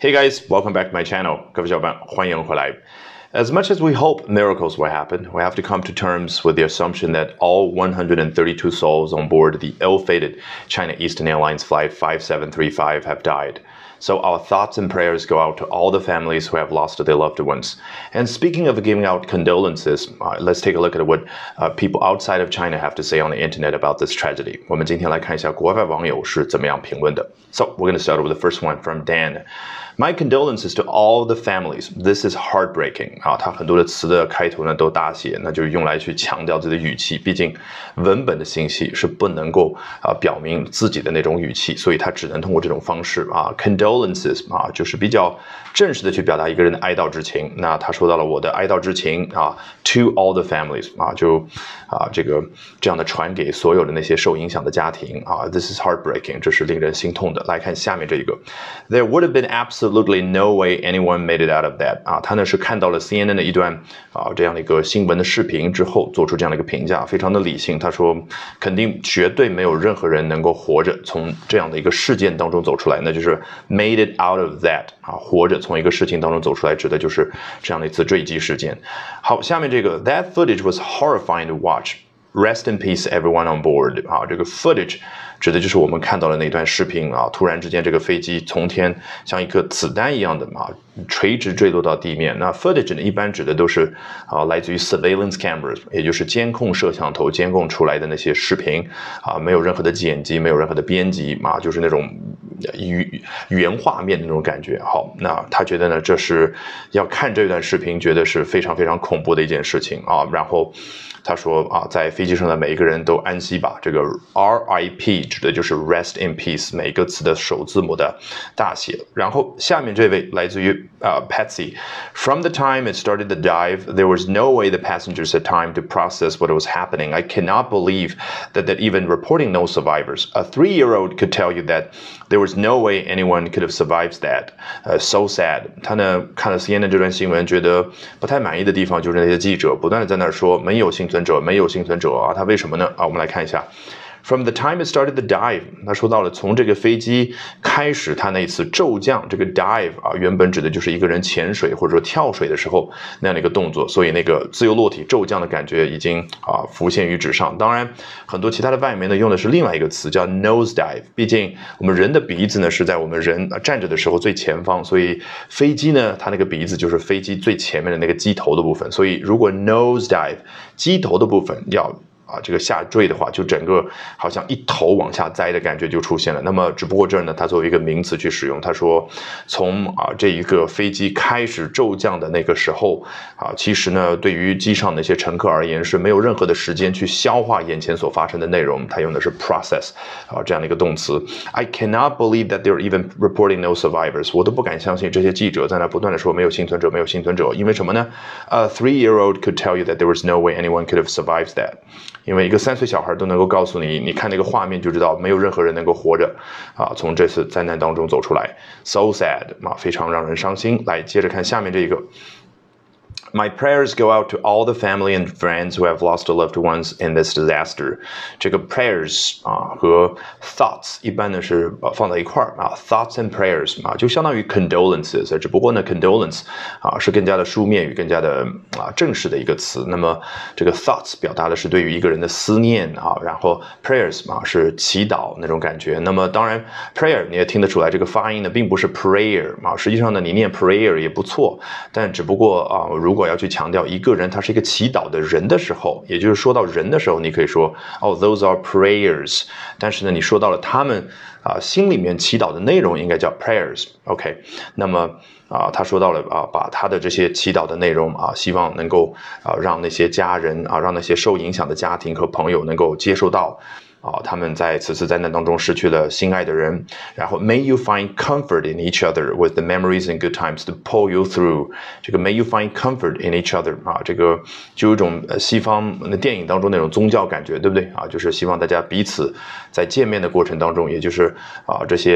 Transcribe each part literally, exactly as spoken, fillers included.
Hey guys, welcome back to my channel. 各位小伙伴，欢迎回来。As much as we hope miracles will happen, we have to come to terms with the assumption that all one hundred thirty-two souls on board the ill-fated China Eastern Airlines Flight five seven three five have died. So our thoughts and prayers go out to all the families who have lost their loved ones. And speaking of giving out condolences, uh, let's take a look at what uh, people outside of China have to say on the internet about this tragedy. 我们今天来看一下国外网友是怎么样评论的。So we're going to start with the first one from Dan. My condolences to all the families. This is heartbreaking. 啊，它很多的词的开头呢都大写，那就是用来去强调自己的语气。毕竟文本的信息是不能够啊表明自己的那种语气，所以它只能通过这种方式啊 condolences 啊，就是比较正式的去表达一个人的哀悼之情。那他说到了我的哀悼之情啊 ，to all the families 啊，就啊这个这样的传给所有的那些受影响的家庭啊 ，this is heartbreaking， 这是令人心痛的。来看下面这一个 ，There would have been absolutely no way anyone made it out of that 啊，他呢是看到了 C N N 的一段啊这样的一个新闻的视频之后，做出这样的一个评价，非常的理性。他说肯定绝对没有任何人能够活着从这样的一个事件当中走出来，那就是 made it out of that 啊，活着从一个事情当中走出来，指的就是这样的一次坠机事件。好，下面这个 That footage was horrifying to watch.Rest in peace, everyone on board. 啊，这个 footage 指的就是我们看到的那段视频啊，突然之间这个飞机从天像一颗子弹一样的啊，垂直坠落到地面。那 footage 呢，一般指的都是啊，来自于 surveillance cameras， 也就是监控摄像头监控出来的那些视频啊，没有任何的剪辑，没有任何的编辑啊，就是那种原原画面的那种感觉。好，那他觉得呢，这是要看这段视频，觉得是非常非常恐怖的一件事情啊。然后他说啊，在飞机上的每一个人都安息吧。这个 R I P 指的就是 rest in peace， 每个词的首字母的大写。然后下面这位来自于呃 Patsy。From the time it started the dive, there was no way the passengers had time to process what was happening. I cannot believe that that even reporting no survivors. A three-year-old could tell you that there was no way anyone could have survived that. Uh, so sad. 他呢看了 C N N 这段新闻，觉得不太满意的地方就是那些记者不断的在那儿说没有幸存者，没有幸存者啊，他为什么呢？啊，我们来看一下。From the time it started the dive， 他说到了从这个飞机开始，他那一次骤降，这个 dive 啊，原本指的就是一个人潜水或者说跳水的时候那样的一个动作，所以那个自由落体骤降的感觉已经啊浮现于纸上。当然，很多其他的外媒呢用的是另外一个词叫 nose dive， 毕竟我们人的鼻子呢是在我们人站着的时候最前方，所以飞机呢它那个鼻子就是飞机最前面的那个机头的部分，所以如果 nose dive 机头的部分要啊，这个下坠的话，就整个好像一头往下栽的感觉就出现了。那么，只不过这儿呢，它作为一个名词去使用。他说，从啊这一个飞机开始骤降的那个时候啊，其实呢，对于机上那些乘客而言是没有任何的时间去消化眼前所发生的内容。他用的是 process 啊这样的一个动词。I cannot believe that they're even reporting no survivors。我都不敢相信这些记者在那不断的说没有幸存者，没有幸存者。因为什么呢 ？A three-year-old could tell you that there was no way anyone could have survived that。因为一个三岁小孩都能够告诉你，你看那个画面就知道，没有任何人能够活着啊，从这次灾难当中走出来。So sad 啊，非常让人伤心。来，接着看下面这一个。My prayers go out to all the family and friends who have lost their loved ones in this disaster. 这个 prayers 啊和 thoughts 一般呢是放在一块儿啊 ，thoughts and prayers 啊就相当于 condolences， 只不过呢 condolence 啊是更加的书面语，更加的啊正式的一个词。那么这个 thoughts 表达的是对于一个人的思念啊，然后 prayers 啊是祈祷那种感觉。那么当然 prayer 你也听得出来，这个发音呢并不是 prayer 啊，实际上呢你念 prayer 也不错，但只不过啊如果要去强调一个人他是一个祈祷的人的时候，也就是说到人的时候，你可以说哦 those are prayers， 但是呢你说到了他们啊心里面祈祷的内容应该叫 prayers。OK， 那么啊他说到了啊把他的这些祈祷的内容啊希望能够啊让那些家人啊让那些受影响的家庭和朋友能够接受到。啊，他们在此次灾难当中失去了心爱的人，然后 May you find comfort in each other with the memories and good times to pull you through。这个 May you find comfort in each other 啊，这个就有一种西方的电影当中那种宗教感觉，对不对啊？就是希望大家彼此在见面的过程当中，也就是啊这些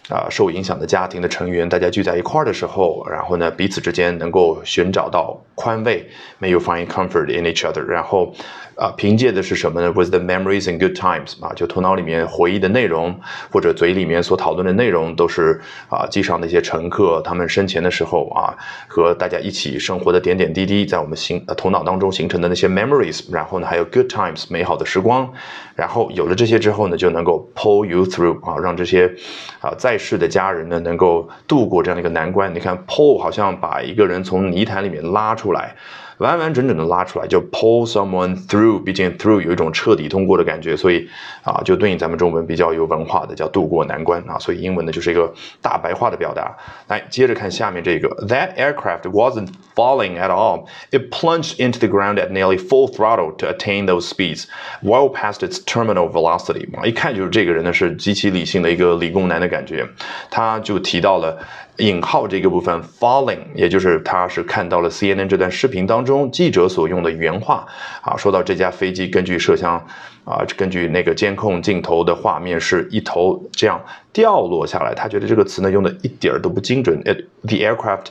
啊、呃、受影响的家庭的成员大家聚在一块儿的时候，然后呢彼此之间能够寻找到宽慰 ，May you find comfort in each other。然后啊、呃、凭借的是什么呢 ？Was the memories and good times 啊，就头脑里面回忆的内容或者嘴里面所讨论的内容都是啊机上那些乘客他们生前的时候啊和大家一起生活的点点滴滴，在我们心、呃、头脑当中形成的那些 memories， 然后呢还有 good times 美好的时光，然后有了这些之后呢，就能够 pull you through 啊，让这些啊在世的家人呢能够度过这样的一个难关。你看 pull 好像把一个人从泥潭里面拉出来。完完整整的拉出来，就 pull someone through， 毕竟 through 有一种彻底通过的感觉，所以啊，就对应咱们中文比较有文化的叫渡过难关啊，所以英文呢就是一个大白话的表达。来，接着看下面这个 ，That aircraft wasn't falling at all. It plunged into the ground at nearly full throttle to attain those speeds, well past its terminal velocity。一看就是这个人呢是极其理性的一个理工男的感觉，他就提到了。引号这个部分 falling， 也就是他是看到了 C N N 这段视频当中记者所用的原话啊，说到这架飞机根据摄像啊，根据那个监控镜头的画面是一头这样掉落下来，他觉得这个词呢用的一点都不精准。It, the aircraft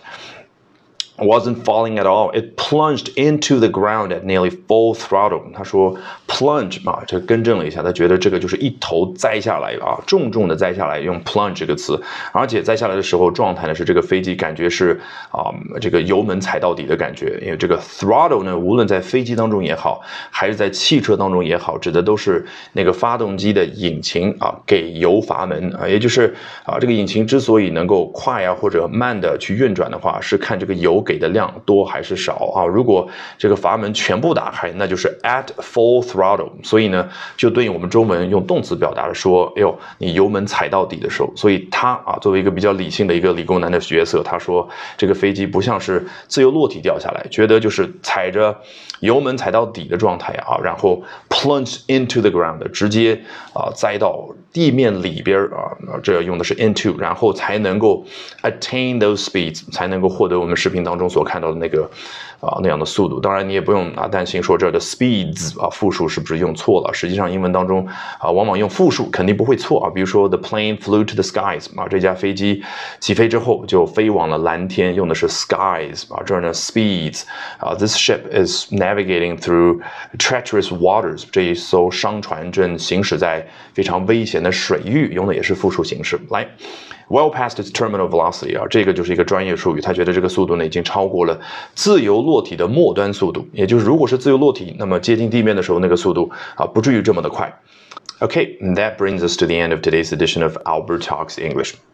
wasn't falling at all. It plunged into the ground at nearly full throttle. 他说 plunge 啊，这更正了一下，他觉得这个就是一头栽下来啊，重重的栽下来，用 plunge 这个词，而且栽下来的时候状态呢是这个飞机感觉是啊、嗯、这个油门踩到底的感觉，因为这个 throttle 呢，无论在飞机当中也好，还是在汽车当中也好，指的都是那个发动机的引擎啊给油阀门啊，也就是啊这个引擎之所以能够快啊或者慢的去运转的话，是看这个油给的量多还是少啊？如果这个阀门全部打开，那就是 at full throttle。所以呢，就对应我们中文用动词表达的说，哎呦，你油门踩到底的时候。所以他啊，作为一个比较理性的一个理工男的角色，他说这个飞机不像是自由落体掉下来，觉得就是踩着油门踩到底的状态啊，然后 plunge into the ground， 直接啊栽到地面里边啊，这用的是 into， 然后才能够 attain those speeds， 才能够获得我们视频当中所看到的那个啊那样的速度。当然你也不用啊担心说这儿的 speeds 啊复数是不是用错了，实际上英文当中啊往往用复数肯定不会错啊。比如说 the plane flew to the skies 啊，这架飞机起飞之后就飞往了蓝天，用的是 skies 啊，这儿呢 speeds 啊 this ship is navigating through treacherous waters， 这一艘商船正行驶在非常危险的水域，用的也是复数形式。来 well past its terminal velocity 啊，这个就是一个专业术语，他觉得这个速度呢已经超过了自由落体的末端速度，也就是如果是自由落体，那么接近地面的时候那个速度啊不至于这么的快。Okay, and that brings us to the end of today's edition of Albert Talks English.